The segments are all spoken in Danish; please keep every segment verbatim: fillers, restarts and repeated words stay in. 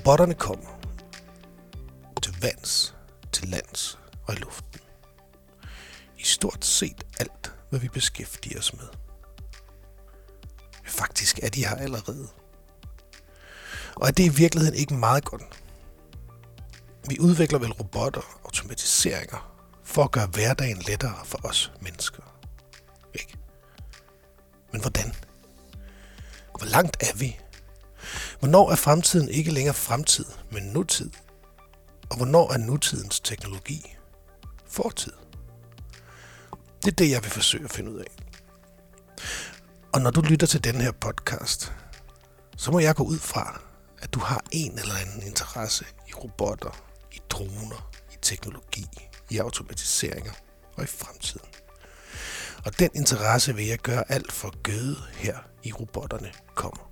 Robotterne kommer til vands, til lands og i luften. I stort set alt, hvad vi beskæftiger os med. Faktisk er de her allerede. Og er det i virkeligheden ikke meget godt? Vi udvikler vel robotter, automatiseringer, for at gøre hverdagen lettere for os mennesker. Ikke? Men hvordan? Hvor langt er vi? Hvornår er fremtiden ikke længere fremtid, men nutid? Og hvornår er nutidens teknologi fortid? Det er det, jeg vil forsøge at finde ud af. Og når du lytter til denne her podcast, så må jeg gå ud fra, at du har en eller anden interesse i robotter, i droner, i teknologi, i automatiseringer og i fremtiden. Og den interesse vil jeg gøre alt for at gøde her i Robotterne kommer.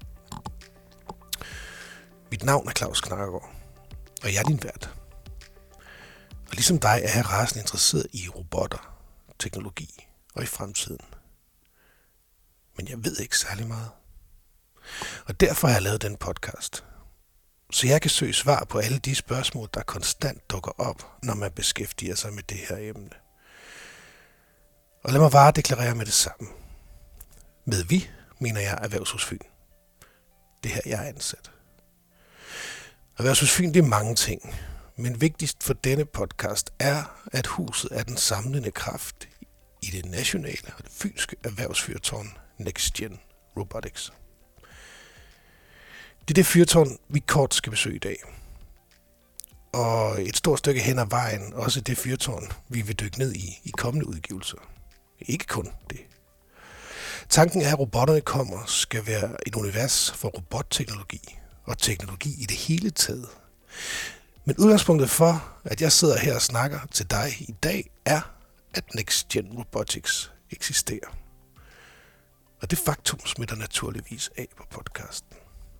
Mit navn er Claus Knakkergaard, og jeg er din vært. Og ligesom dig er jeg rasende interesseret i robotter, teknologi og i fremtiden. Men jeg ved ikke særlig meget. Og derfor har jeg lavet den podcast. Så jeg kan søge svar på alle de spørgsmål, der konstant dukker op, når man beskæftiger sig med det her emne. Og lad mig bare deklarere med det samme. Med vi, mener jeg Erhvervshus Fyn. Det her, jeg er ansat. Erhvervshus Fyn, det er mange ting. Men vigtigst for denne podcast er, at huset er den samlende kraft i det nationale og det fynske erhvervsfyrtårn NextGen Robotics. Det er det fyrtårn, vi kort skal besøge i dag. Og et stort stykke hen ad vejen, også det fyrtårn, vi vil dykke ned i i kommende udgivelser. Ikke kun det. Tanken er, at robotterne kommer skal være et univers for robotteknologi og teknologi i det hele taget. Men udgangspunktet for, at jeg sidder her og snakker til dig i dag, er, at NextGen Robotics eksisterer. Og det faktum smitter naturligvis af på podcasten.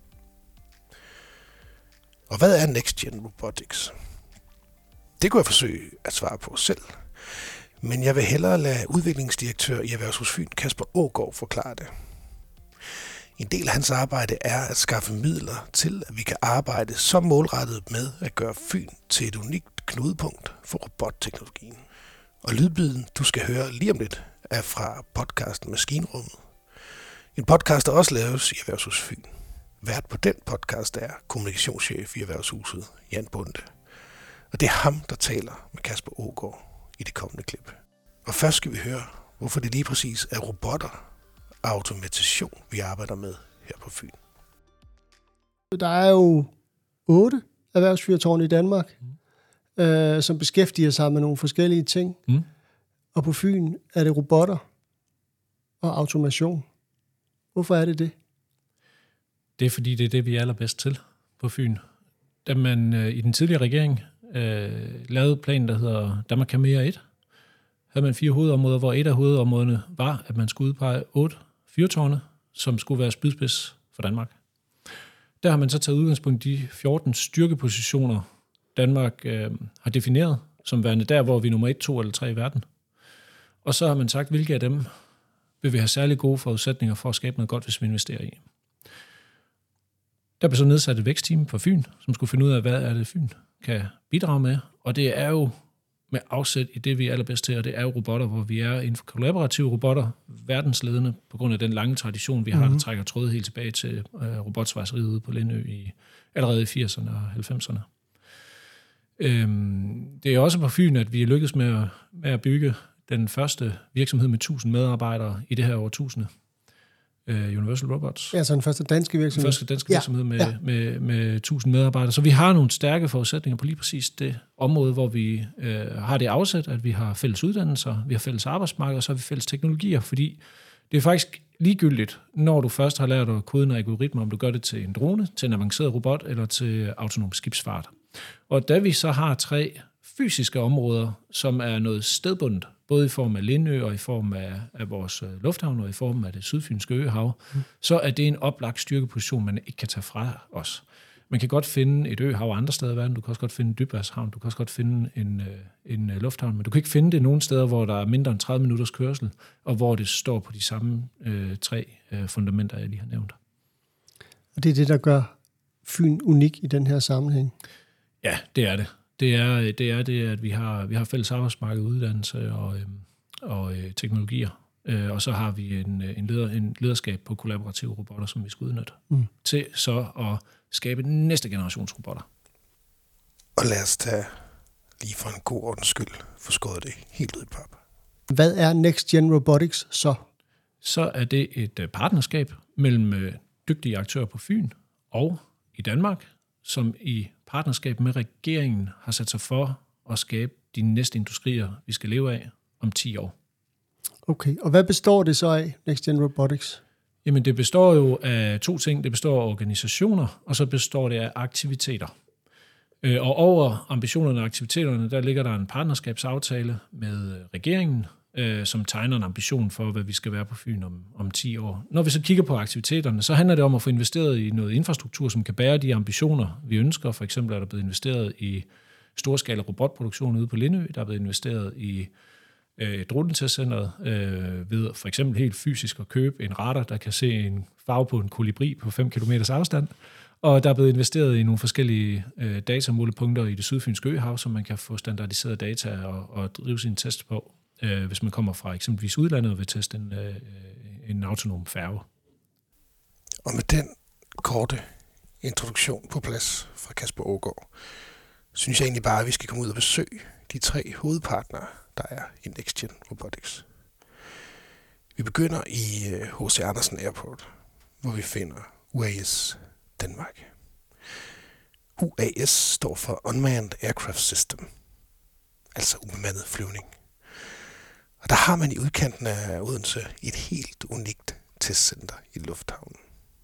Og hvad er NextGen Robotics? Det kunne jeg forsøge at svare på selv. Men jeg vil hellere lade udviklingsdirektør i Erhvervshus Fyn, Kasper Aagaard, forklare det. En del af hans arbejde er at skaffe midler til, at vi kan arbejde så målrettet med at gøre Fyn til et unikt knudepunkt for robotteknologien. Og lydbiden, du skal høre lige om lidt, er fra podcasten Maskinrummet. En podcast, der også laves i Erhvervshus Fyn. Vært på den podcast er kommunikationschef i Erhvervshuset, Jan Bunde. Og det er ham, der taler med Kasper Aagaard i det kommende klip. Og først skal vi høre, hvorfor det lige præcis er robotter og automation, vi arbejder med her på Fyn. Der er jo otte erhvervsfyrtårne i Danmark, mm. øh, som beskæftiger sig med nogle forskellige ting. Mm. Og på Fyn er det robotter og automation. Hvorfor er det det? Det er fordi, det er det, vi er allerbedst til på Fyn. Da man øh, i den tidligere regering øh, lavede planen, der hedder Danmark kan mere et, havde man fire hovedområder, hvor et af hovedområderne var, at man skulle udpege otte fyrtårne, som skulle være spydspids for Danmark. Der har man så taget udgangspunkt i de fjorten styrkepositioner, Danmark øh, har defineret som værende der, hvor vi er nummer et, to eller tre i verden. Og så har man sagt, hvilke af dem vil vi have særlig gode forudsætninger for at skabe noget godt, hvis vi investerer i. Der blev så nedsat et vækstteam for Fyn, som skulle finde ud af, hvad er det, Fyn kan bidrage med. Og det er jo med afsæt i det, vi er allerbedst til, og det er jo robotter, hvor vi er inden for kollaborative robotter, verdensledende, på grund af den lange tradition, vi har, mm-hmm. der trækker trådet helt tilbage til øh, robotsvejseriet ude på Lindø i, allerede i firserne og halvfemserne. Øhm, det er også på Fyn, at vi er lykkedes med at, med at bygge den første virksomhed med tusind medarbejdere i det her årtusinde. Universal Robots. Ja, så den første danske virksomhed. Den første danske ja. virksomhed med, ja. med, med tusind medarbejdere. Så vi har nogle stærke forudsætninger på lige præcis det område, hvor vi øh, har det afsæt, at vi har fælles uddannelser, vi har fælles arbejdsmarked, og så har vi fælles teknologier, fordi det er faktisk ligegyldigt, når du først har lært at kode en algoritme, om du gør det til en drone, til en avanceret robot eller til autonom skibsfart. Og da vi så har tre fysiske områder, som er noget stedbundet, både i form af Lindø og i form af, af vores lufthavn og i form af det sydfynske øhav, mm. så er det en oplagt styrkeposition, man ikke kan tage fra os. Man kan godt finde et øhav andre steder i verden, du kan også godt finde en dybvandshavn, du kan også godt finde en, en lufthavn, men du kan ikke finde det nogen steder, hvor der er mindre end tredive minutters kørsel, og hvor det står på de samme øh, tre øh, fundamenter, jeg lige har nævnt. Og det er det, der gør Fyn unik i den her sammenhæng? Ja, det er det. Det er det, er det at vi har, vi har fælles arbejdsmarked, uddannelse og, øhm, og øh, teknologier. Øh, og så har vi en, en, leder, en lederskab på kollaborative robotter, som vi skal udnytte mm. til så at skabe næste generations robotter. Og lad os tage lige for en god ordens skyld få skåret det helt ud i pap. Hvad er Next Gen Robotics så? Så er det et partnerskab mellem dygtige aktører på Fyn og i Danmark, som i partnerskab med regeringen har sat sig for at skabe de næste industrier, vi skal leve af om ti år. Okay, og hvad består det så af, Next Gen Robotics? Jamen, det består jo af to ting. Det består af organisationer, og så består det af aktiviteter. Og over ambitionerne og aktiviteterne, der ligger der en partnerskabsaftale med regeringen, som tegner en ambition for, hvad vi skal være på Fyn om, om ti år. Når vi så kigger på aktiviteterne, så handler det om at få investeret i noget infrastruktur, som kan bære de ambitioner, vi ønsker. For eksempel er der blevet investeret i storskala robotproduktion ude på Lindø. Der er blevet investeret i øh, dronetestcenteret øh, ved for eksempel helt fysisk at købe en radar, der kan se en farve på en kolibri på fem kilometers afstand. Og der er blevet investeret i nogle forskellige øh, datamålepunkter i det sydfynske øhav, så man kan få standardiseret data og, og drive sine tests på, øh, hvis man kommer fra eksempelvis udlandet og vil teste en, øh, en autonom færge. Og med den korte introduktion på plads fra Kasper Aagaard, synes jeg egentlig bare, at vi skal komme ud og besøge de tre hovedpartnere, der er i Next Gen Robotics. Vi begynder i H C Andersen Airport, hvor vi finder U A S Danmark. U A S står for Unmanned Aircraft System, altså ubemandet flyvning. Og der har man i udkanten af Odense et helt unikt testcenter i lufthavnen.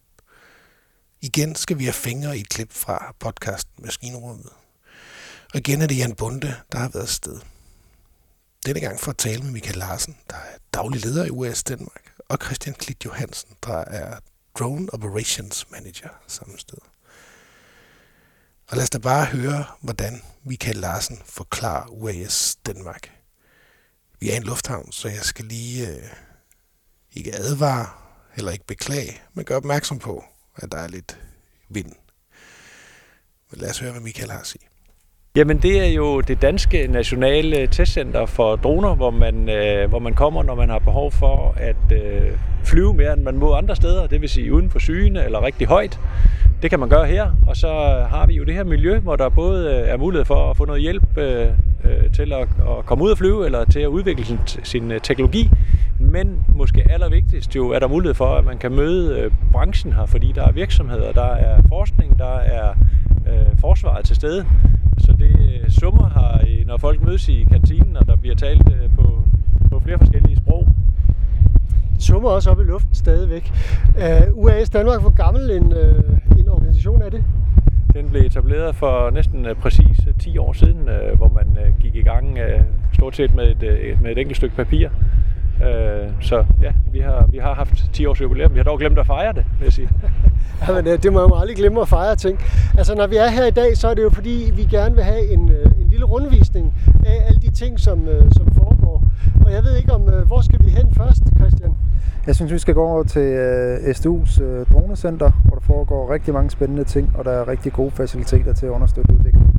Igen skal vi have fingre i et klip fra podcasten Maskinrummet. Og igen er det Jan Bonde, der har været afsted. Denne gang for at tale med Michael Larsen, der er daglig leder i U A S Danmark, og Christian Klit Johansen, der er Drone Operations Manager samme sted. Og lad os da bare høre, hvordan Michael Larsen forklarer U A S Danmark. Vi er i en lufthavn, så jeg skal lige øh, ikke advare, eller ikke beklage, men gøre opmærksom på, at der er lidt vind. Men lad os høre, hvad Michael har at sige. Jamen det er jo det danske nationale testcenter for droner, hvor man, øh, hvor man kommer, når man har behov for at øh, flyve mere, end man må andre steder. Det vil sige uden for syne eller rigtig højt. Det kan man gøre her, og så har vi jo det her miljø, hvor der både er mulighed for at få noget hjælp øh, til at, at komme ud og flyve, eller til at udvikle sin, sin teknologi. Men måske allervigtigst jo er der mulighed for, at man kan møde øh, branchen her, fordi der er virksomheder, der er forskning, der er øh, forsvaret til stede. Så det summer her, når folk mødes i kantinen, og der bliver talt øh, på, på flere forskellige sprog. Det summer også op i luften stadigvæk. Uh, U A S Danmark, hvor gammel en, uh, en organisation er det? Den blev etableret for næsten uh, præcis ti år siden, uh, hvor man uh, gik i gang uh, stort set med et, uh, med et enkelt stykke papir. Uh, så ja, vi har, vi har haft ti års jubilæum. Vi har dog glemt at fejre det, vil jeg sige. Jamen, det må jeg jo aldrig glemme at fejre ting. Altså, når vi er her i dag, så er det jo fordi, vi gerne vil have en, en lille rundvisning af alle de ting, som, som foregår. Og jeg ved ikke, om hvor skal vi hen først, Christian? Jeg synes, vi skal gå over til uh, S D U's uh, dronecenter, hvor der foregår rigtig mange spændende ting, og der er rigtig gode faciliteter til at understøtte udviklingen.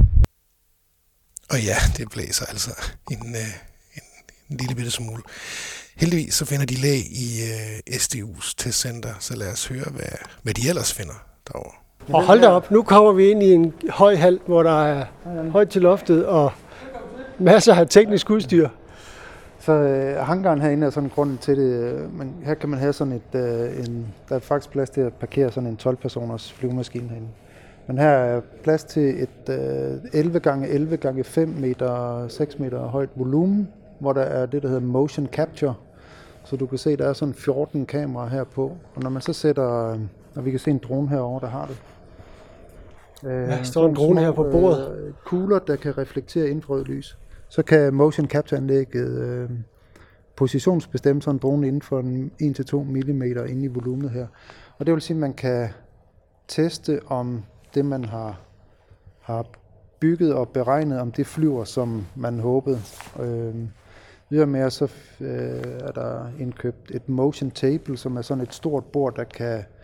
Og ja, det blæser altså en, uh, en, en lille bitte smule. Heldigvis så finder de læg i uh, S D U's testcenter, så lad os høre, hvad, hvad de ellers finder derovre. Og hold da op, nu kommer vi ind i en høj hal, hvor der er højt til loftet og masser af teknisk udstyr. Så øh, hangaren herinde er sådan grunden til det. Men her kan man have sådan et, øh, en, der er faktisk plads til at parkere sådan en tolv-personers flyvemaskine herinde. Men her er plads til et øh, elleve gange elleve gange fem meter, seks meter højt volumen, hvor der er det, der hedder motion capture. Så du kan se, der er sådan fjorten kameraer her på. Og når man så sætter, og vi kan se en drone herovre, der har det. Øh, ja, står en drone her på bordet. Øh, kugler, der kan reflektere infrarødt lys. Så kan motion capture-anlægget øh, positionsbestemme sådan en drone inden for en til to millimeter inde i volumet her. Og det vil sige, at man kan teste, om det, man har, har bygget og beregnet, om det flyver, som man håbede. Øh, Videre med, så øh, er der indkøbt et motion table, som er sådan et stort bord, der kan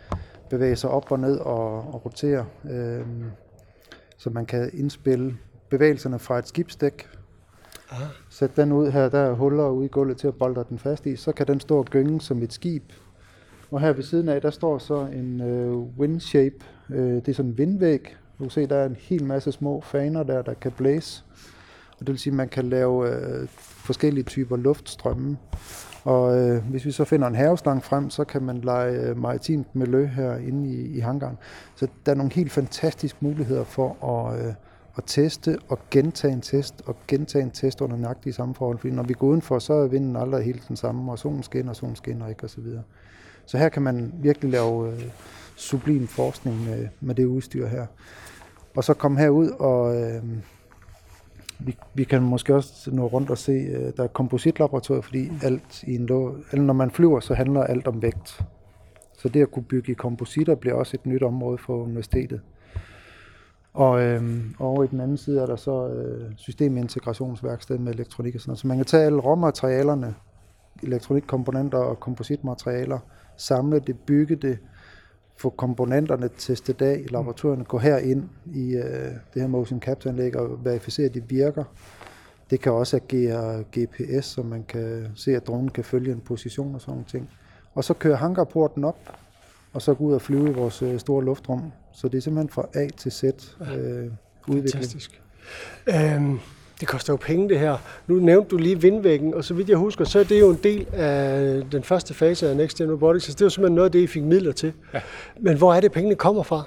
bevæge sig op og ned og, og rotere, øh, så man kan indspille bevægelserne fra et skibsdæk. Ah. Sæt den ud her, der er huller ude i gulvet til at bolde den fast i, så kan den stå og gynge som et skib. Og her ved siden af, der står så en øh, windshape, øh, det er sådan en vindvæg. Du kan se, der er en hel masse små faner der, der kan blæse. Og det vil sige, at man kan lave øh, forskellige typer luftstrømme. Og øh, hvis vi så finder en haveslang frem, så kan man lege øh, maritimt miljø her inde i, i hangaren. Så der er nogle helt fantastiske muligheder for at, øh, at teste og gentage en test og gentage en test under nøjagtige samme forhold. Fordi når vi går udenfor, så er vinden aldrig helt den samme, og solen skinner, og solen skinner ikke osv. Så, så her kan man virkelig lave øh, sublim forskning med, med det udstyr her. Og så komme herud og... Øh, Vi, vi kan måske også nå rundt og se, uh, der er kompositlaboratorier, fordi alt i en lå, når man flyver, så handler alt om vægt. Så det at kunne bygge i kompositter bliver også et nyt område for universitetet. Og øhm, over i den anden side er der så øh, systemintegrationsværksted med elektronik og sådan noget. Så man kan tage alle råmaterialerne, elektronikkomponenter og kompositmaterialer, samle det, bygge det, få komponenterne testet af i laboratorierne, gå herind i øh, det her motion capture-anlæg og verificere, at de virker. Det kan også agere G P S, så man kan se, at dronen kan følge en position og sådan nogle ting. Og så kører hangarporten op, og så gå ud og flyve i vores øh, store luftrum. Så det er simpelthen fra A til Z øh, udvikling. Fantastisk. Um Det koster jo penge, det her. Nu nævnte du lige vindvæggen, og så vidt jeg husker, så er det jo en del af den første fase af Next Gen Robotics. Så det er jo simpelthen noget af det, I fik midler til. Ja. Men hvor er det, pengene kommer fra?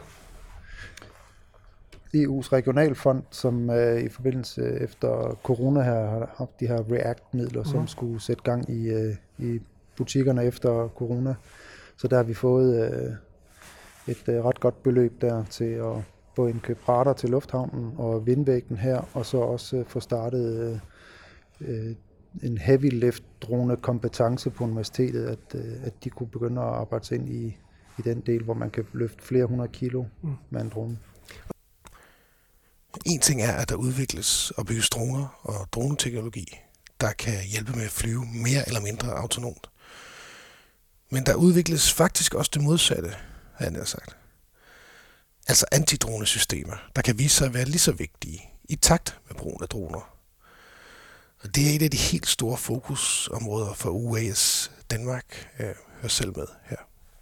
E U's regionalfond, som uh, i forbindelse efter corona her har haft de her React-midler, som mm. skulle sætte gang i, uh, i butikkerne efter corona. Så der har vi fået uh, et uh, ret godt beløb der til at både indkøbe radar til lufthavnen og vindvæggen her, og så også uh, få startet uh, uh, en heavy lift drone kompetence på universitetet, at, uh, at de kunne begynde at arbejde sig ind i, i den del, hvor man kan løfte flere hundrede kilo mm. med en drone. En ting er, at der udvikles og bygges droner og droneteknologi, der kan hjælpe med at flyve mere eller mindre autonomt. Men der udvikles faktisk også det modsatte, har jeg sagt. Altså antidronesystemer, der kan vise sig at være lige så vigtige i takt med brugen af droner. Og det er et af de helt store fokusområder for U A S Danmark. Jeg hører selv med her.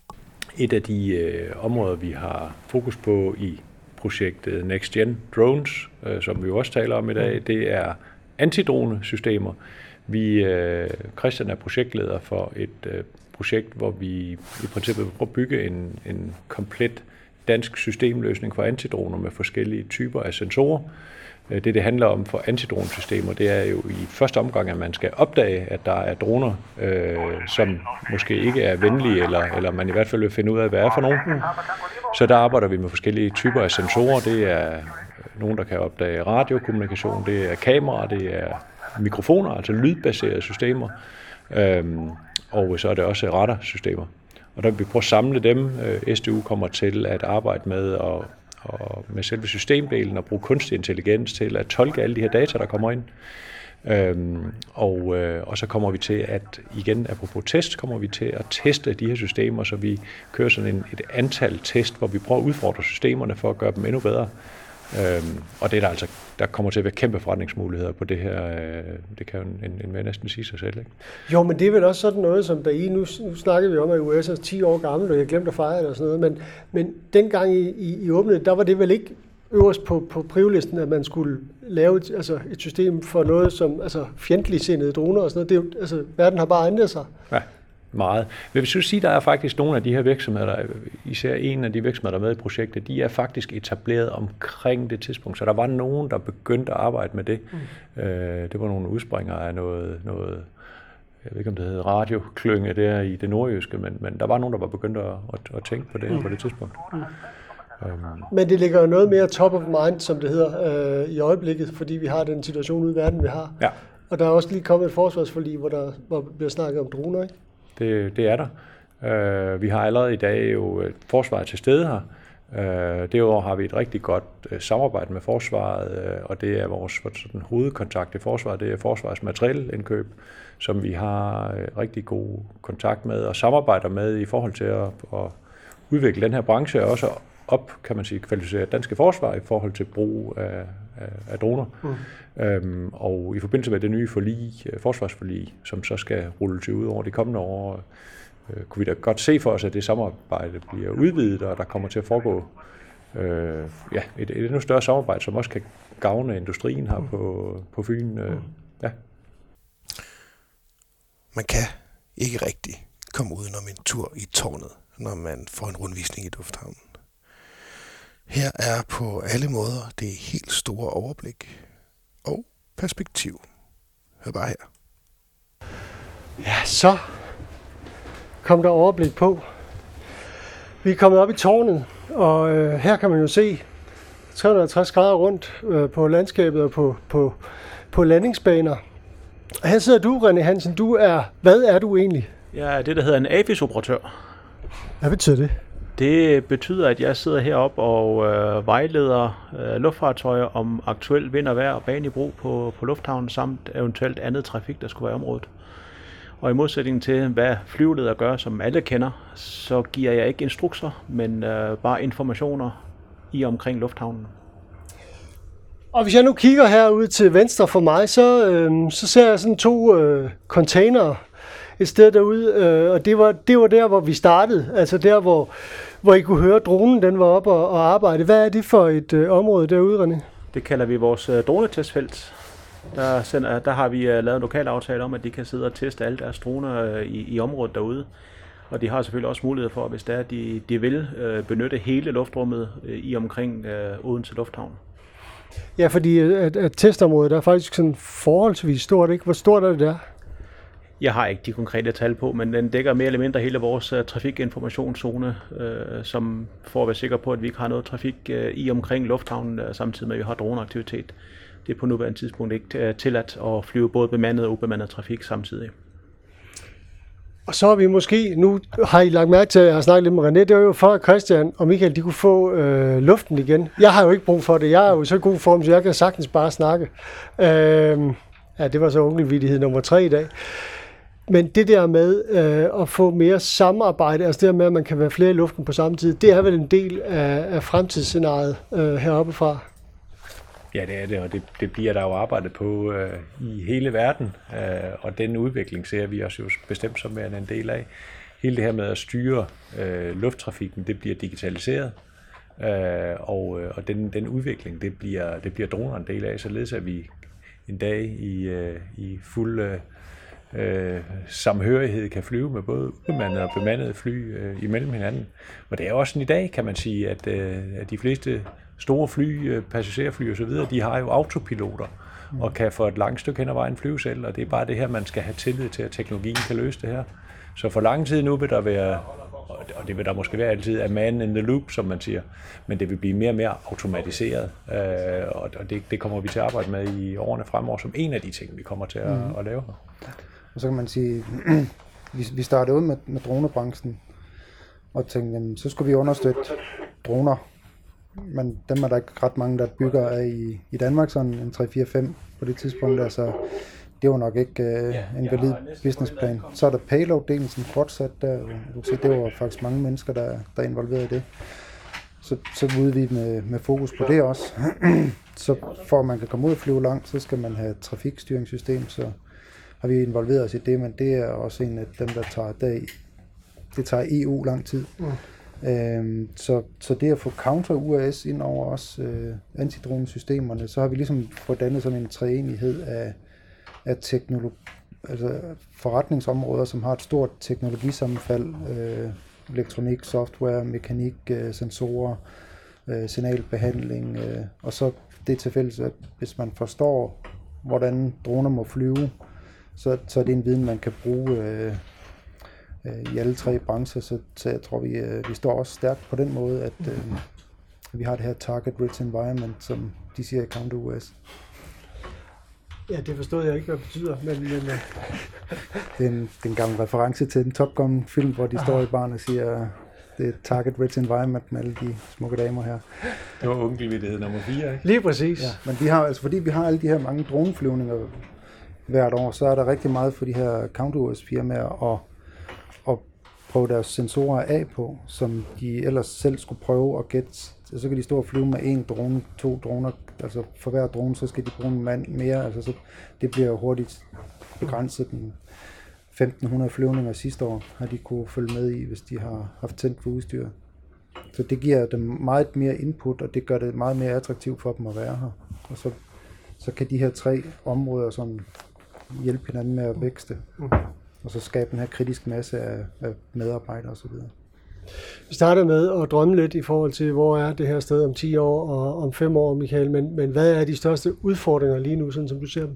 Et af de øh, områder, vi har fokus på i projektet Next Gen Drones, øh, som vi jo også taler om i dag, det er antidronesystemer. Vi, øh, Christian er projektleder for et øh, projekt, hvor vi i princippet vil prøve at bygge en, en komplet dansk systemløsning for antidroner med forskellige typer af sensorer. Det, det handler om for antidronesystemer, det er jo i første omgang, at man skal opdage, at der er droner, øh, som måske ikke er venlige, eller, eller man i hvert fald vil finde ud af, hvad er for nogen. Så der arbejder vi med forskellige typer af sensorer. Det er nogen, der kan opdage radiokommunikation, det er kameraer, det er mikrofoner, altså lydbaserede systemer, øhm, og så er det også radarsystemer. Og der vil vi prøve at samle dem. S D U kommer til at arbejde med, og, og med selve systemdelen og bruge kunstig intelligens til at tolke alle de her data, der kommer ind. Øhm, og, øh, og så kommer vi til at, igen apropos test, kommer vi til at teste de her systemer, så vi kører sådan en, et antal test, hvor vi prøver at udfordre systemerne for at gøre dem endnu bedre. Øhm, og det er der altså, der kommer til at være kæmpe forretningsmuligheder på det her. Øh, det kan jo en, en, en næsten sige sig selv, ikke? Jo, men det er vel også sådan noget, som der i, nu, nu snakker vi om, at U S er ti år gammel, og jeg glemte at fejre det og sådan noget, men, men dengang I, I, I åbnede, der var det vel ikke øverst på, på priorlisten, at man skulle lave et, altså et system for noget som altså fjendtligsindede droner og sådan noget. Det er jo, altså, verden har bare ændret sig. Ja, meget. Men hvis du siger, der er faktisk nogle af de her virksomheder, der, især en af de virksomheder, der er med i projektet, de er faktisk etableret omkring det tidspunkt. Så der var nogen, der begyndte at arbejde med det. Mm. Øh, det var nogle udspringere af noget, noget, jeg ved ikke om det hedder radioklynge der i det nordjyske, men, men der var nogen, der var begyndt at, at, at tænke på det mm. på det tidspunkt. Mm. Men det ligger jo noget mere top of mind, som det hedder, øh, i øjeblikket, fordi vi har den situation ude i verden, vi har. Ja. Og der er også lige kommet et forsvarsforlig, hvor der hvor bliver snakket om droner, ikke? Det, det er der. Uh, vi har allerede i dag jo et forsvar til stede her. Uh, derudover har vi et rigtig godt uh, samarbejde med forsvaret, uh, og det er vores sådan, hovedkontakt i forsvaret, det er forsvarets materielindkøb, som vi har uh, rigtig god kontakt med og samarbejder med i forhold til at, at udvikle den her branche, og også op, kan man sige, kvalificere danske forsvar i forhold til brug af, af, af droner. Mm. Øhm, og i forbindelse med det nye forlig, forsvarsforlig, som så skal rulles ud over de kommende år, øh, kunne vi da godt se for os, at det samarbejde bliver udvidet, og der kommer til at foregå øh, ja, et, et endnu større samarbejde, som også kan gavne industrien her på, på Fyn. Øh, ja. Man kan ikke rigtig komme udenom en tur i tårnet, når man får en rundvisning i lufthavnen. Her er på alle måder det helt store overblik og perspektiv. Hør bare her. Ja, så kom der overblik på. Vi er kommet op i tårnet, og øh, her kan man jo se tre hundrede og halvtreds grader rundt øh, på landskabet og på, på, på landingsbaner. Og her sidder du, René Hansen. Du er, hvad er du egentlig? Jeg er det, der hedder en A F I S-operatør. Hvad betyder det? Det betyder, at jeg sidder heroppe og øh, vejleder øh, luftfartøjer om aktuel vind og vejr og bane i brug på, på lufthavnen, samt eventuelt andet trafik, der skulle være i området. Og i modsætning til, hvad flyveleder gør, som alle kender, så giver jeg ikke instrukser, men øh, bare informationer i omkring lufthavnen. Og hvis jeg nu kigger herude til venstre for mig, så, øh, så ser jeg sådan to øh, containere et sted derude, øh, og det var, det var der, hvor vi startede, altså der, hvor, hvor I kunne høre, dronen den var oppe og, og arbejde. Hvad er det for et øh, område derude, René? Det kalder vi vores øh, dronetestfelt. Der, sender, der har vi uh, lavet en lokal aftale om, at de kan sidde og teste alle deres droner uh, i, i området derude. Og de har selvfølgelig også mulighed for, hvis det er, de, de vil uh, benytte hele luftrummet uh, i omkring uh, Odense Lufthavn. Ja, fordi at, at testområdet er faktisk sådan forholdsvis stort, ikke? Hvor stort er det der? Jeg har ikke de konkrete tal på, men den dækker mere eller mindre hele vores uh, trafikinformationszone, uh, som for at være sikker på, at vi ikke har noget trafik uh, i omkring lufthavnen, uh, samtidig med, at vi har droneaktivitet. Det er på nuværende tidspunkt ikke tilladt at flyve både bemandet og ubemandet trafik samtidig. Og så har vi måske, nu har I lagt mærke til, at jeg har snakket lidt med René, det var jo for, at Christian og Michael, de kunne få øh, luften igen. Jeg har jo ikke brug for det, jeg er jo i så god form, så jeg kan sagtens bare snakke. Øh, ja, det var så ungevittighed nummer tre i dag. Men det der med øh, at få mere samarbejde, altså det der med, at man kan være flere i luften på samme tid, det er vel en del af, af fremtidsscenariet øh, heroppe fra. Ja, det er det, og det, det bliver der jo arbejdet på øh, i hele verden, øh, og den udvikling ser vi også jo bestemt som en del af. Hele det her med at styre øh, lufttrafikken, det bliver digitaliseret, øh, og, og den, den udvikling, det bliver, det bliver droner en del af, således at vi en dag i, øh, i fuld øh, samhørighed kan flyve med både ubemandede og bemandede fly øh, imellem hinanden. Og det er også sådan i dag, kan man sige, at, øh, at de fleste store fly, passagerfly og så videre, de har jo autopiloter og kan for et langt stykke hen ad vejen flyve selv, og det er bare det her, man skal have tillid til, at teknologien kan løse det her. Så for lang tid nu vil der være, og det vil der måske være altid, a man in the loop, som man siger, men det vil blive mere og mere automatiseret, og det, det kommer vi til at arbejde med i årene fremover, som en af de ting, vi kommer til at, mm. at lave her. Og så kan man sige, vi startede ud med, med dronebranchen, og tænkte, jamen, så skulle vi understøtte droner. Men dem er der ikke ret mange, der bygger af i, i Danmark, sådan en tre fire fem på det tidspunkt, altså det var nok ikke uh, en valid businessplan. Så er der payload-delen, som fortsat der, du kan se, det var faktisk mange mennesker, der, der er involveret i det. Så, så udvider vi med, med fokus på det også. Så for at man kan komme ud og flyve langt, så skal man have et trafikstyringssystem, så har vi involveret os i det, men det er også en af dem, der tager det, det tager E U lang tid. Mm. Øhm, så, så det at få counter-U A S ind over os, øh, antidronesystemerne, så har vi ligesom fået dannet sådan en treenighed af, af teknologi, altså forretningsområder, som har et stort teknologisammenfald, øh, elektronik, software, mekanik, øh, sensorer, øh, signalbehandling, øh, og så det til fælles, at hvis man forstår, hvordan droner må flyve, så, så er det en viden, man kan bruge øh, i alle tre brancher, så, så jeg tror, vi, vi står også stærkt på den måde, at øh, vi har det her target-rich environment, som de siger i counter-U A S. Ja, det forstod jeg ikke, hvad det betyder, men... men uh... det, er en, det er en gammel reference til en Top Gun-film, hvor de ah. står i baren og siger, det er target-rich environment med alle de smukke damer her. Det var onkelvittighed nummer fire, ikke? Lige præcis. Ja, men vi har, altså, fordi vi har alle de her mange droneflyvninger hvert år, så er der rigtig meget for de her counter-U A S-firmaer, og prøve deres sensorer af på, som de ellers selv skulle prøve at gætte. Så kan de stå og flyve med en drone, to droner, altså for hver drone, så skal de bruge en mand mere. Altså så det bliver hurtigt begrænset. Den femten hundrede flyvninger sidste år har de kunne følge med i, hvis de har haft tændt for udstyr. Så det giver dem meget mere input, og det gør det meget mere attraktivt for dem at være her. Og så, så kan de her tre områder sådan hjælpe hinanden med at vækste, og så skabe den her kritiske masse af, af medarbejdere osv. Vi starter med at drømme lidt i forhold til, hvor er det her sted om ti år og om fem år, Michael, men, men hvad er de største udfordringer lige nu, sådan som du ser dem?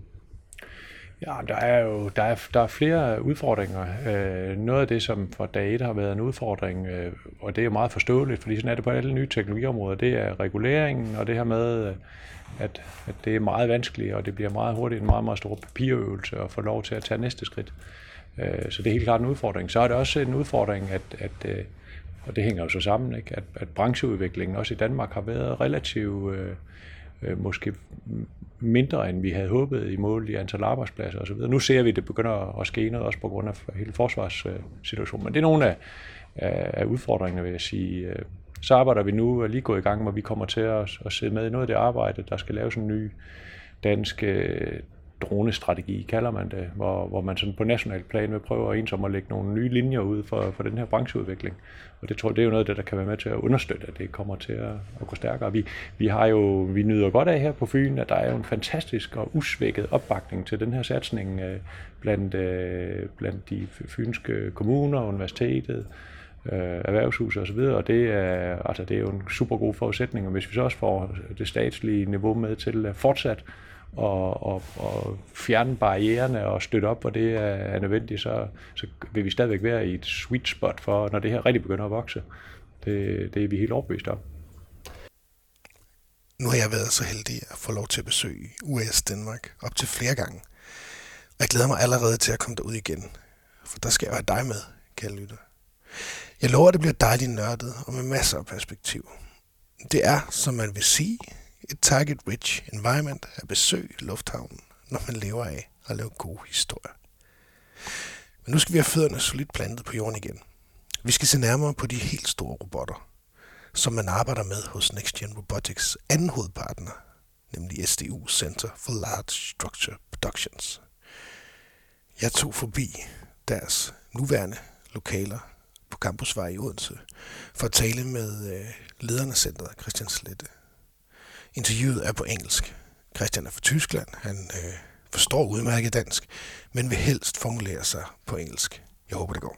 Ja, der er jo der er, der er flere udfordringer. Øh, noget af det, som for dag et har været en udfordring, øh, og det er jo meget forståeligt, fordi sådan er det på alle nye teknologiområder, det er reguleringen, og det her med, at, at det er meget vanskeligt, og det bliver meget hurtigt en meget, meget stor papirøvelse at få lov til at tage næste skridt. Øh, så det er helt klart en udfordring. Så er det også en udfordring, at, at og det hænger jo så sammen, ikke? At, at brancheudviklingen også i Danmark har været relativt øh, øh, måske mindre, end vi havde håbet i mål i antal arbejdspladser osv. Nu ser vi, at det begynder at ske noget, også på grund af hele forsvarssituationen. Men det er nogle af, af udfordringerne, vil jeg sige. Så arbejder vi nu og lige gået i gang, hvor vi kommer til at, at sidde med i noget af det arbejde, der skal laves en ny dansk dronestrategi, kalder man det, hvor, hvor man sådan på national plan vil prøve at ensom at lægge nogle nye linjer ud for, for den her brancheudvikling. Og det tror jeg, det er jo noget af det, der kan være med til at understøtte, at det kommer til at, at gå stærkere. Vi, vi har jo, vi nyder godt af her på Fyn, at der er jo en fantastisk og usvækket opbakning til den her satsning blandt, blandt de fynske kommuner, universitetet, erhvervshus og så videre, og det er, altså det er jo en super god forudsætning, og hvis vi så også får det statslige niveau med til fortsat og, og, og fjerne barriererne og støtte op, hvor det er nødvendigt, så, så vil vi stadigvæk være i et sweet spot for, når det her rigtig begynder at vokse. Det, det er vi helt overbevist om. Nu har jeg været så heldig at få lov til at besøge U A S Danmark op til flere gange. Og jeg glæder mig allerede til at komme derud igen, for der skal jeg have dig med, kære lytter. Jeg lover, at det bliver dejligt nørdet og med masser af perspektiv. Det er, som man vil sige, et target-rich environment at besøge lufthavnen, når man lever af at lave gode historier. Men nu skal vi have fødderne solidt plantet på jorden igen. Vi skal se nærmere på de helt store robotter, som man arbejder med hos NextGen Robotics anden hovedpartner, nemlig S D U Center for Large Structure Productions. Jeg tog forbi deres nuværende lokaler på Campusvej i Odense for at tale med øh, lederen af centret, Christian Slette. Interviewet er på engelsk. Christian er fra Tyskland. Han øh, forstår udmærket dansk, men vil helst formulere sig på engelsk. Jeg håber, det går.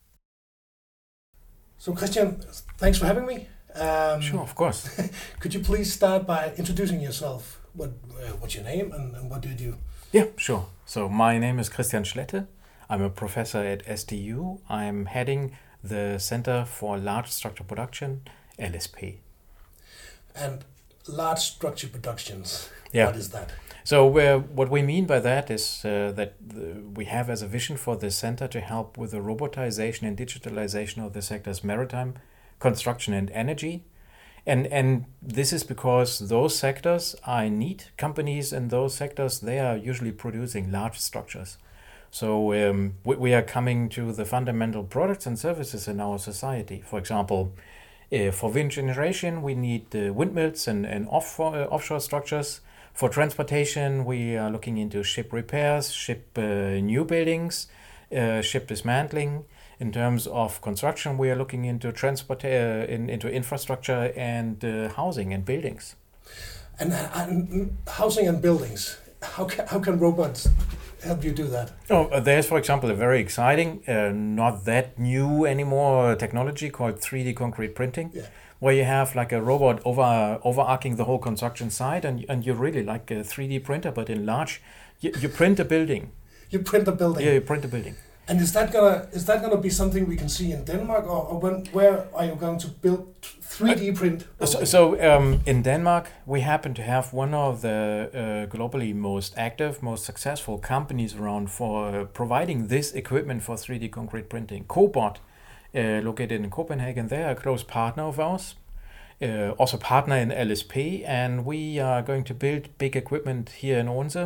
So Christian, thanks for having me. Um, Sure, of course. Could you please start by introducing yourself? What, uh, what's your name and, and what do you do? Yeah, sure. So my name is Christian Schlette. I'm a professor at S D U. I'm heading the Center for Large Structure Production, L S P. And large structure productions, Yeah. what is that? So uh, what we mean by that is uh, that the, we have as a vision for the center to help with the robotization and digitalization of the sectors maritime, construction and energy. And and this is because those sectors are in need. Companies in those sectors, they are usually producing large structures. So um, we, we are coming to the fundamental products and services in our society. For example, uh, for wind generation, we need uh, windmills and, and off, uh, offshore structures. For transportation, we are looking into ship repairs, ship uh, new buildings, uh, ship dismantling. In terms of construction, we are looking into transport, uh, in, into infrastructure and uh, housing and buildings. And, and housing and buildings, how can, how can robots help you do that? Oh, uh, there's, for example, a very exciting, uh, not that new anymore technology called three D concrete printing, Yeah. where you have like a robot over overarching the whole construction site, and and you're really like a three D printer, but in large. You, you print a building. You print a building. Yeah, you print a building. And is that gonna is that gonna be something we can see in Denmark, or, or when where are you going to build three D print? So, so um, in Denmark, we happen to have one of the uh, globally most active, most successful companies around for uh, providing this equipment for three D concrete printing. Cobot, uh, located in Copenhagen, they are a close partner of ours, uh, also partner in L S P, and we are going to build big equipment here in Odense.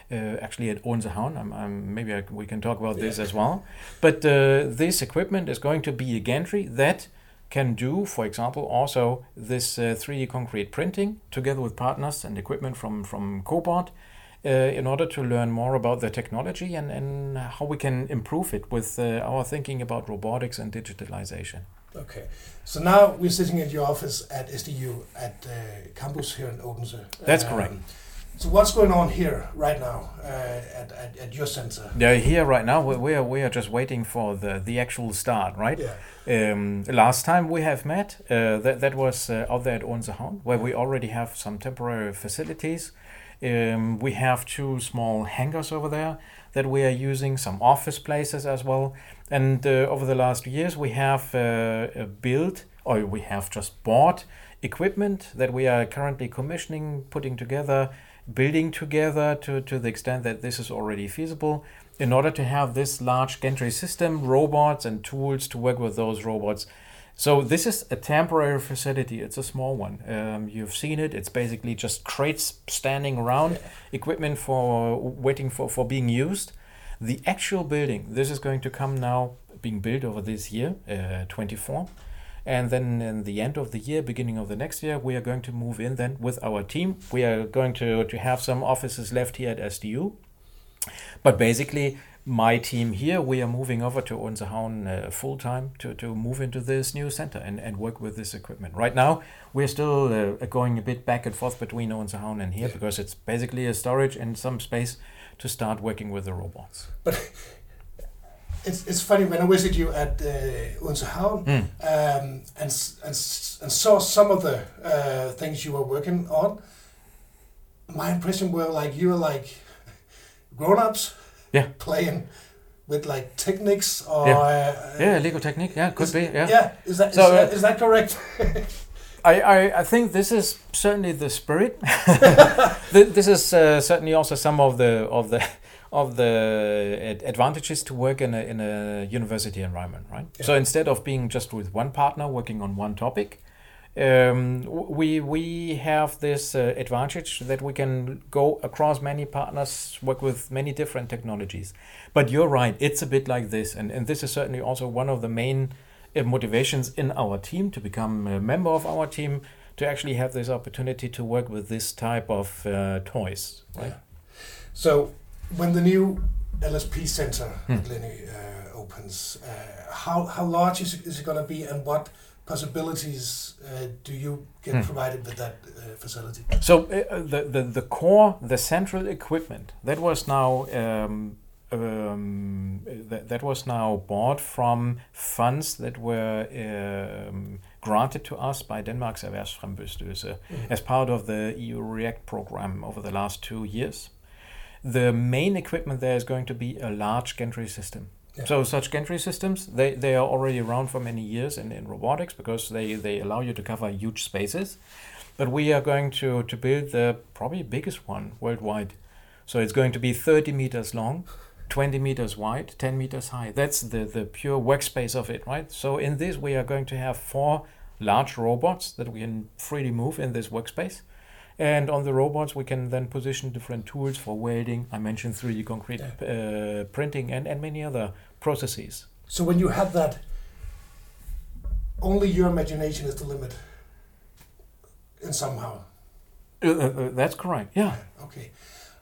uh, actually at Odensehavn. I'm, I'm, maybe I, we can talk about yeah. this as well. But uh, this equipment is going to be a gantry that can do, for example, also this uh, three D concrete printing together with partners and equipment from, from Cobalt uh, in order to learn more about the technology and, and how we can improve it with uh, our thinking about robotics and digitalization. Okay, so now we're sitting at your office at S D U at uh, campus here in Odense. That's um, correct. So what's going on here right now uh, at, at at your center? Yeah, here right now we we are we are just waiting for the the actual start, right? Yeah. Um, last time we have met, uh, that that was uh, out there at Odensehavn, where we already have some temporary facilities. Um, we have two small hangars over there that we are using, some office places as well. And uh, over the last years, we have uh, built, or we have just bought equipment that we are currently commissioning, putting together, building together to, to the extent that this is already feasible in order to have this large gantry system, robots and tools to work with those robots. So this is a temporary facility. It's a small one. Um, you've seen it. It's basically just crates standing around, yeah. equipment for waiting for, for being used. The actual building, this is going to come now, being built over this year, uh, twenty-four. And then in the end of the year, beginning of the next year, we are going to move in then with our team. We are going to, to have some offices left here at S D U. But basically, my team here, we are moving over to Odensehavn uh, full time to, to move into this new center and, and work with this equipment. Right now, we're still uh, going a bit back and forth between Odensehavn and here yeah. because it's basically a storage and some space to start working with the robots. But it's it's funny, when I visited you at uh, Odensehavn mm. um, and, and, and saw some of the uh, things you were working on, my impression were like you were like grown-ups. Yeah. Playing with like techniques or yeah, uh, yeah Lego Technic, yeah, could is, be, yeah. Yeah, is that so, is, that, uh, is that correct? I, I, I think this is certainly the spirit. This is uh, certainly also some of the of the of the advantages to work in a in a university environment, right? Yeah. So instead of being just with one partner working on one topic, Um, we we have this uh, advantage that we can go across many partners, work with many different technologies. But you're right, it's a bit like this, and, and this is certainly also one of the main uh, motivations in our team to become a member of our team, to actually have this opportunity to work with this type of uh, toys. Right? Yeah. So when the new L S P center hmm. at Leni uh, opens, uh, how how large is it, is it going to be, and what possibilities uh, do you get hmm. provided with that uh, facility? So uh, the, the the core, the central equipment that was now um, um, that, that was now bought from funds that were um, granted to us by Denmark's Erhvervsfrembestyrelse mm. as part of the E U REACT program over the last two years. The main equipment there is going to be a large gantry system. Yeah. So such gantry systems, they, they are already around for many years in, in robotics because they, they allow you to cover huge spaces. But we are going to, to build the probably biggest one worldwide. So it's going to be thirty meters long, twenty meters wide, ten meters high. That's the, the pure workspace of it, right? So in this, we are going to have four large robots that we can freely move in this workspace. And on the robots, we can then position different tools for welding. I mentioned three D concrete uh, printing and, and many other processes. So when you have that, only your imagination is the limit, in somehow. Uh, uh, that's correct, yeah. Okay.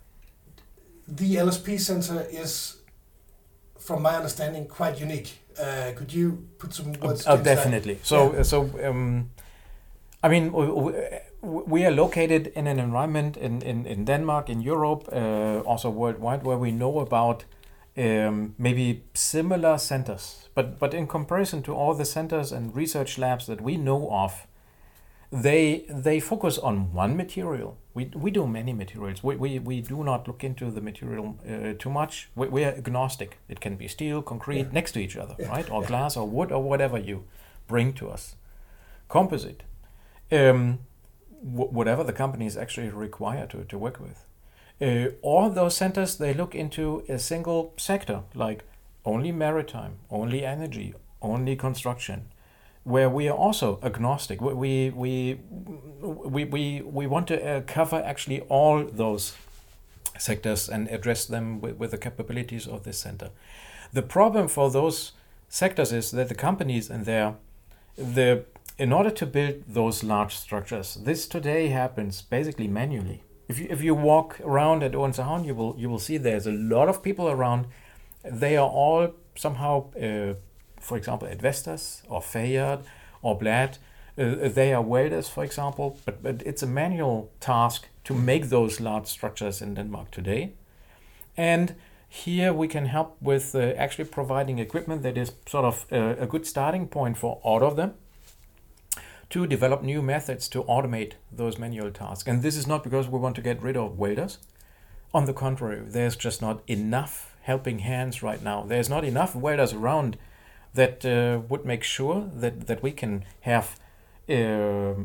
The L S P Center is, from my understanding, quite unique. Uh, could you put some words? Uh, uh, definitely. That? So, yeah. so um, I mean, we, we are located in an environment in, in, in Denmark, in Europe, uh, also worldwide, where we know about um, maybe similar centers. But but in comparison to all the centers and research labs that we know of, they they focus on one material. We we do many materials. We we, we do not look into the material uh, too much. We, we are agnostic. It can be steel, concrete, yeah. next to each other, yeah. right? Or yeah. glass or wood or whatever you bring to us. Composite. Um, w- whatever the companies actually require to, to work with. Uh, all those centers, they look into a single sector, like only maritime, only energy, only construction, where we are also agnostic. We we we we we, we want to uh, cover actually all those sectors and address them with, with the capabilities of this center. The problem for those sectors is that the companies and their the in order to build those large structures, this today happens basically manually. If you if you walk around at Odense Havn, you will you will see there's a lot of people around. They are all somehow, uh, for example, at Vestas or Fayard or Blad. Uh, they are welders, for example, but but it's a manual task to make those large structures in Denmark today. And here we can help with uh, actually providing equipment that is sort of uh, a good starting point for all of them to develop new methods to automate those manual tasks. And this is not because we want to get rid of welders. On the contrary, there's just not enough helping hands right now. There's not enough welders around that uh, would make sure that, that we can have uh,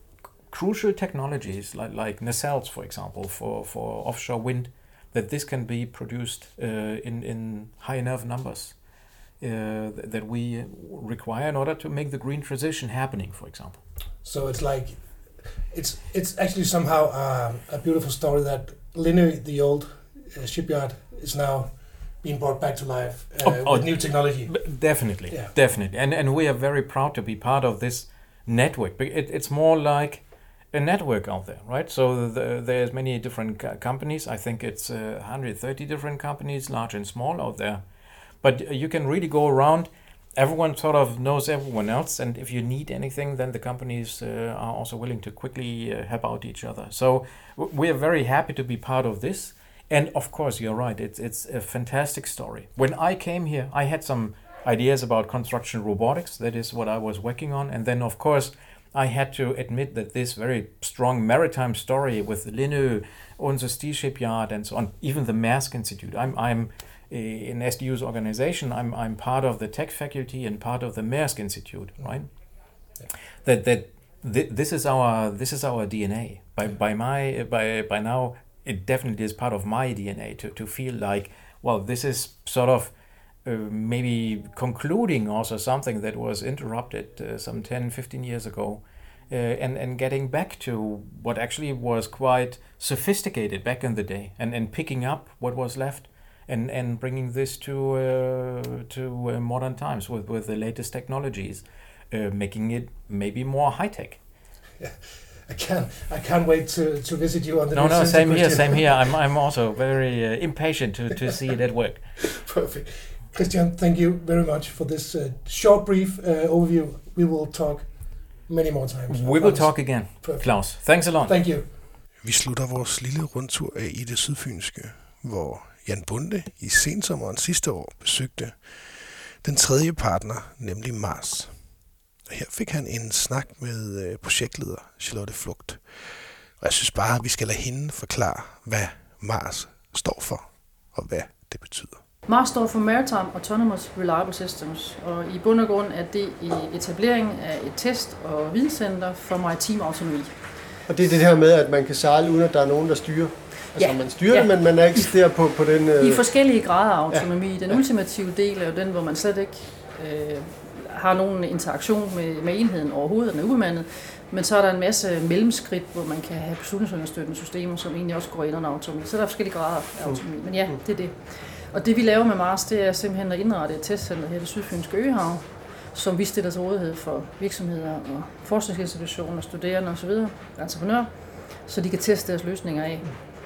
crucial technologies like, like nacelles, for example, for, for offshore wind, that this can be produced uh, in, in high enough numbers uh, that we require in order to make the green transition happening, for example. So it's like, it's it's actually somehow um, a beautiful story that Lindø, the old uh, shipyard, is now being brought back to life uh, oh, oh, with new technology. Definitely, yeah. definitely. And, and we are very proud to be part of this network. It, it's more like a network out there, right? So the, there's many different co- companies. I think it's uh, one hundred thirty different companies, large and small, out there. But you can really go around. Everyone sort of knows everyone else, and if you need anything, then the companies uh, are also willing to quickly uh, help out each other. So w- we are very happy to be part of this. And of course, you're right. It's it's a fantastic story. When I came here, I had some ideas about construction robotics. That is what I was working on. And then, of course, I had to admit that this very strong maritime story with Lindø, Odense Steel Shipyard, and so on, even the Maersk Institute. I'm I'm in S D U's organization. I'm I'm part of the tech faculty and part of the Maersk Institute, right? Yeah. That that th- this is our this is our D N A. By by my by by now, it definitely is part of my D N A to to feel like, well, this is sort of uh, maybe concluding also something that was interrupted uh, some ten, fifteen years ago, uh, and and getting back to what actually was quite sophisticated back in the day, and and picking up what was left. And, and bringing this to uh, to uh, modern times with, with the latest technologies, uh, making it maybe more high tech. Yeah, I can't I can't wait to, to visit you on the. No, no, same here, same here. I'm I'm also very uh, impatient to, to see it at work. Perfect, Christian. Thank you very much for this uh, short, brief uh, overview. We will talk many more times. We will talk again, Perfect. Claus. Thanks a lot. Thank you. Vi slutter vores lille rundtur af i det sydfynske, hvor Jan Bonde i sensommeren sidste år besøgte den tredje partner, nemlig Mars. Og her fik han en snak med projektleder Charlotte Flugt. Og jeg synes bare, at vi skal lade hende forklare, hvad Mars står for, og hvad det betyder. Mars står for Maritime Autonomous Reliable Systems, og i bund og grund er det etableringen af et test- og videnscenter for maritim autonomi. Og det er det her med, at man kan sejle, uden at der er nogen, der styrer? Altså, ja. man styrer ja. det, men man er ikke der på, på den... Øh... I forskellige grader af autonomi. Ja. Den ultimative del er jo den, hvor man slet ikke øh, har nogen interaktion med, med enheden overhovedet, den er ubemandet. Men så er der en masse mellemskridt, hvor man kan have beslutningsunderstøttende systemer, som egentlig også går ind under autonomi. Så der er forskellige grader af autonomi. Men ja, det er det. Og det vi laver med Mars, det er simpelthen at indrette et testcenter her i det sydfynske Øhav, som vi stiller til rådighed for virksomheder og forskningsinstitutioner, studerende osv., entreprenører, så de kan teste deres løsninger af.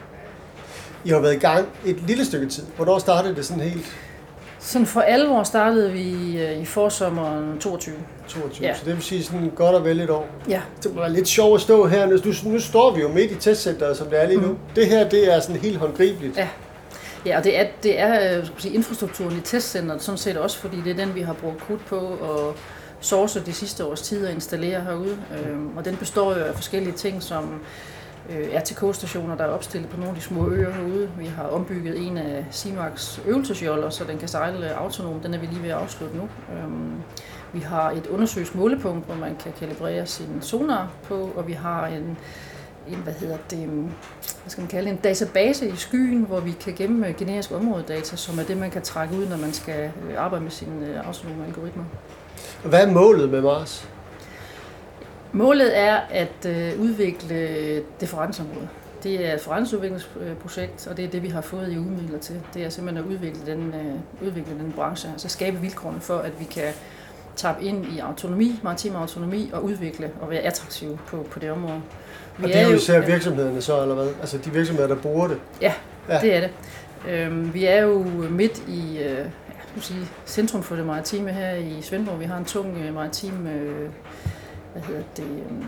I har været i gang et lille stykke tid. Hvornår startede det sådan helt? Sådan for alvor startede vi i forsommeren toogtyve. toogtyve, ja. Så det vil sige sådan godt og vel et år. Ja. Det var lidt sjovt at stå her. Nu, nu står vi jo midt i testcenteret, som det er lige nu. Mm. Det her, det er sådan helt håndgribeligt. Ja. Ja, og det er, det er skal sige, infrastrukturen i testcenteret, sådan set også, fordi det er den, vi har brugt krudt på at source de sidste års tid og installere herude. Øhm, og den består jo af forskellige ting, som øh, R T K-stationer, der er opstillet på nogle af de små øer herude. Vi har ombygget en af Simax øvelsesjoller, så den kan sejle autonom. Den er vi lige ved at afslutte nu. Øhm, vi har et undersøgt målepunkt, hvor man kan kalibrere sin sonar på, og vi har en en, hvad hedder det, hvad skal man kalde en database i skyen, hvor vi kan gemme generiske områdedata, som er det, man kan trække ud, når man skal arbejde med sine autonome algoritmer. Hvad er målet med Mars? Målet er at øh, udvikle differensområdet. Det er et forretningsudviklingsprojekt, og det er det, vi har fået i udmidler til. Det er simpelthen at udvikle den, øh, udvikle den branche, altså skabe vilkårene for, at vi kan tappe ind i autonomi, maritim autonomi og udvikle og være attraktive på, på det område. Vi og det er jo især virksomhederne så, eller hvad? Altså de virksomheder, der bruger det? Ja, ja. Det er det. Øhm, vi er jo midt i øh, ja, sige, centrum for det maritime her i Svendborg. Vi har en tung øh, maritim, øh, hvad hedder det... Øh,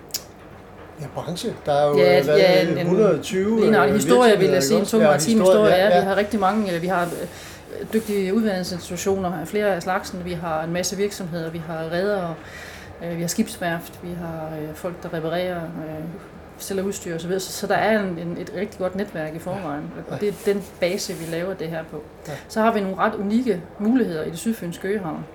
Ja, branche. Der er jo ja, hvad, ja, en, et hundrede og tyve en, en historie, vil jeg sige. En tung ja, maritim historie. Ja, ja. Ja. Vi har rigtig mange. Vi har dygtige uddannelsesinstitutioner, flere af slagsen. Vi har en masse virksomheder. Vi har redere, vi har skibsværft, vi har folk, der reparerer, sælger udstyr osv. Så der er en, en, et rigtig godt netværk i forvejen. Og det er den base, vi laver det her på. Så har vi nogle ret unikke muligheder i det sydfynske øhav.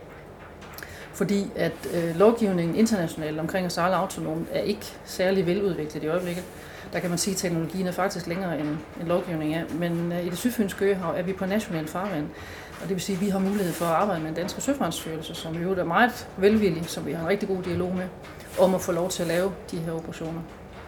Fordi at øh, lovgivningen internationalt omkring at sejle autonomt er ikke særlig veludviklet i øjeblikket. Der kan man sige, at teknologien er faktisk længere end, end lovgivningen er. Men øh, i det sydfynske øhav er vi på national farvand. Og det vil sige, at vi har mulighed for at arbejde med en dansk søfartsstyrelse, som jo er meget velvillig, som vi har en rigtig god dialog med, om at få lov til at lave de her operationer.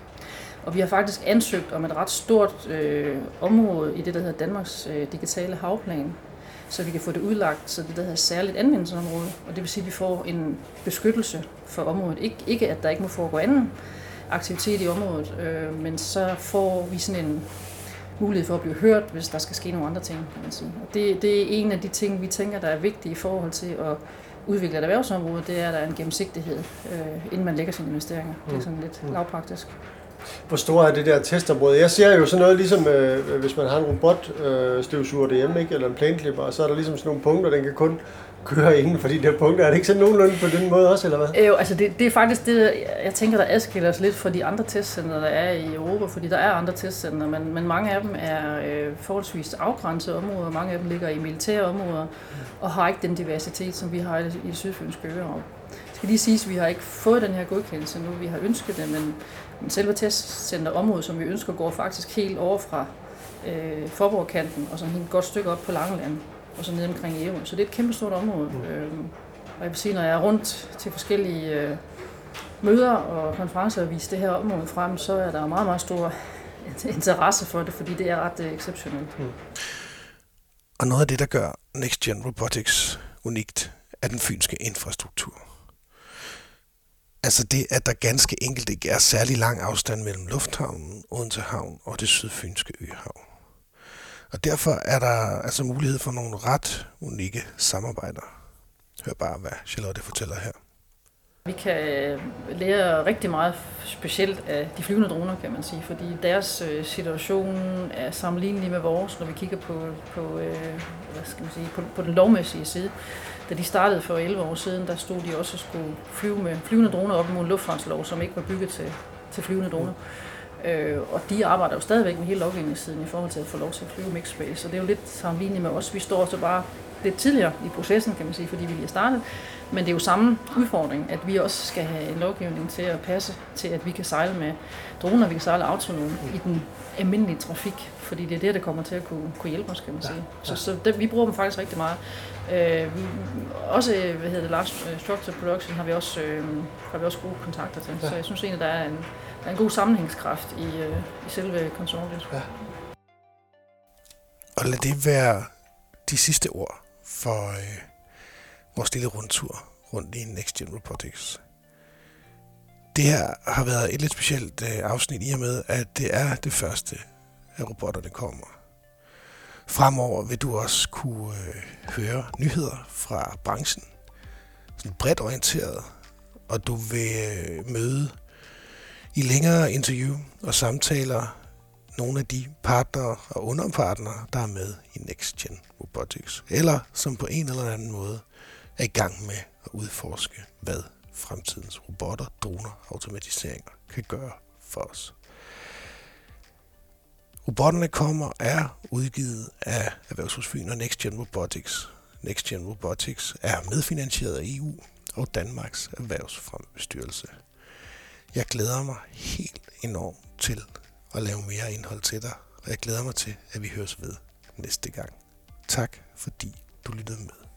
Og vi har faktisk ansøgt om et ret stort øh, område i det, der hedder Danmarks øh, digitale havplan, så vi kan få det udlagt, så det der hedder særligt anvendelsesområde. Og det vil sige, at vi får en beskyttelse for området. Ik- ikke at der ikke må foregå anden aktivitet i området, øh, men så får vi sådan en mulighed for at blive hørt, hvis der skal ske nogle andre ting, kan man sige. Og det, det er en af de ting, vi tænker, der er vigtige i forhold til at udvikle et erhvervsområde, det er, at der er en gennemsigtighed, øh, inden man lægger sine investeringer. Det er sådan lidt mm. lavpraktisk. Hvor stor er det der testområde? Jeg ser jo sådan noget, ligesom øh, hvis man har en robotstøvsuger øh, derhjemme, ikke? Eller en plæneklipper, og så er der ligesom sådan nogle punkter, den kan kun køre inden for de der punkter. Er det ikke sådan nogenlunde på den måde også, eller hvad? Jo, altså det, det er faktisk det, jeg tænker, der adskiller os lidt fra de andre testcenter, der er i Europa, fordi der er andre testcenter, men, men mange af dem er øh, forholdsvis afgrænsede områder, mange af dem ligger i militære områder, og har ikke den diversitet, som vi har i det, i det sydfynske øhav. Det skal lige siges, at vi har ikke fået den her godkendelse nu, vi har ønsket det, men Men selve testcenterområdet, som vi ønsker, går faktisk helt over fra øh, Forborgkanten og sådan et godt stykke op på Langeland og så ned omkring Ærø. Så det er et kæmpe stort område. Mm. Øhm, og jeg vil sige, når jeg er rundt til forskellige øh, møder og konferencer og viser det her område frem, så er der meget, meget stor interesse for det, fordi det er ret øh, exceptionelt. Mm. Og noget af det, der gør NextGen Robotics unikt, er den fynske infrastruktur. Altså det, at der ganske enkelt ikke er særlig lang afstand mellem lufthavnen, Odense Havn og det sydfynske øhav. Og derfor er der altså mulighed for nogle ret unikke samarbejder. Hør bare, hvad Charlotte fortæller her. Vi kan lære rigtig meget specielt af de flyvende droner, kan man sige, fordi deres situation er sammenlignelig med vores, når vi kigger på, på, hvad skal man sige, på, på den lovmæssige side. Da de startede for elleve år siden, der stod de også og skulle flyve med flyvende droner op mod en luftfartslov, som ikke var bygget til, til flyvende droner. Øh, og de arbejder jo stadigvæk med hele lovgivningssiden i forhold til at få lov til at flyve mixed space, så det er jo lidt sammenlignet med os. Vi står så bare lidt tidligere i processen, kan man sige, fordi vi lige er startet. Men det er jo samme udfordring, at vi også skal have en lovgivning til at passe til, at vi kan sejle med droner, vi kan sejle autonom i den almindelige trafik, fordi det er det, der kommer til at kunne, kunne hjælpe os, kan man sige. Ja, ja. Så, så det, vi bruger dem faktisk rigtig meget. Øh, vi, også, hvad hedder det, Large Structure Production har vi også, øh, har vi også gode kontakter til, ja. Så jeg synes egentlig, der er en, der er en god sammenhængskraft i, øh, i selve konsortiet. Ja. Og lad det være de sidste ord for øh, vores lille rundtur rundt i NextGen Robotics. Det her har været et lidt specielt øh, afsnit i og med, at det er det første af robotterne kommer. Fremover vil du også kunne øh, høre nyheder fra branchen, sådan bredt orienteret, og du vil øh, møde i længere interview og samtaler nogle af de partnere og underpartnere, der er med i NextGen Robotics, eller som på en eller anden måde er i gang med at udforske, hvad fremtidens robotter, droner og automatiseringer kan gøre for os. Robotterne kommer er udgivet af Erhvervshus Fyn og NextGen Robotics. NextGen Robotics er medfinansieret af E U og Danmarks Erhvervsfremmebestyrelse. Jeg glæder mig helt enormt til at lave mere indhold til dig, og jeg glæder mig til, at vi høres ved næste gang. Tak fordi du lyttede med.